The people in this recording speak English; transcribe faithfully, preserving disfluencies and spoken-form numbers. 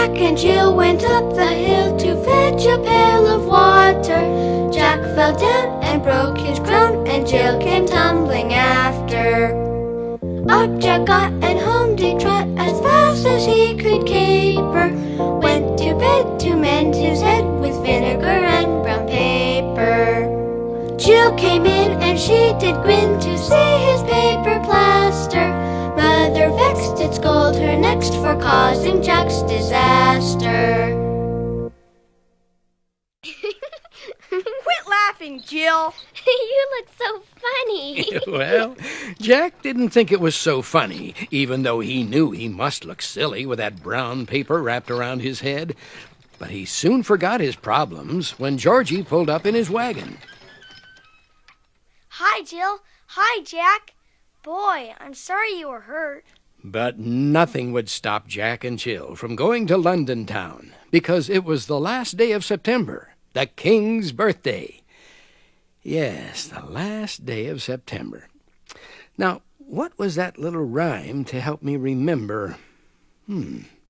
Jack and Jill went up the hill to fetch a pail of water. Jack fell down and broke his crown, and Jill came tumbling after. Up Jack got and home did trot as fast as he could caper. Went to bed to mend his head with vinegar and brown paper. Jill came in and she did grin to see his paper plaster. Mother vexed did scold her next for causing Jack's disaster. Quit laughing, Jill. You look so funny. Well, Jack didn't think it was so funny, even though he knew he must look silly with that brown paper wrapped around his head. But he soon forgot his problems when Georgie pulled up in his wagon. Hi, Jill. Hi, Jack. Boy, I'm sorry you were hurt. But nothing would stop Jack and Jill from going to London town, because it was the last day of September, the King's birthday. Yes, the last day of September. Now, what was that little rhyme to help me remember? Hmm...